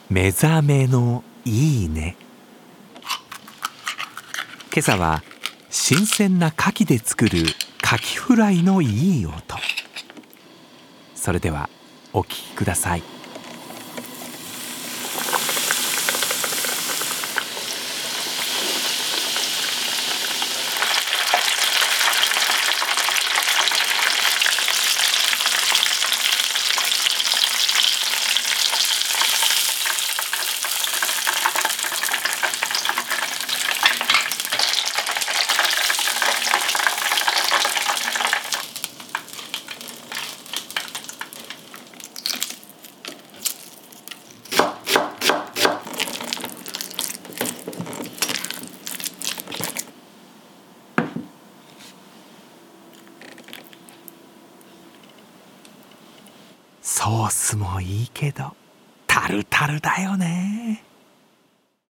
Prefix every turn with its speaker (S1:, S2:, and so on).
S1: 目覚めのいいね。今朝は新鮮な牡蠣で作る牡蠣フライのいい音。それではお聞きください。ソースもいいけどタルタルだよね。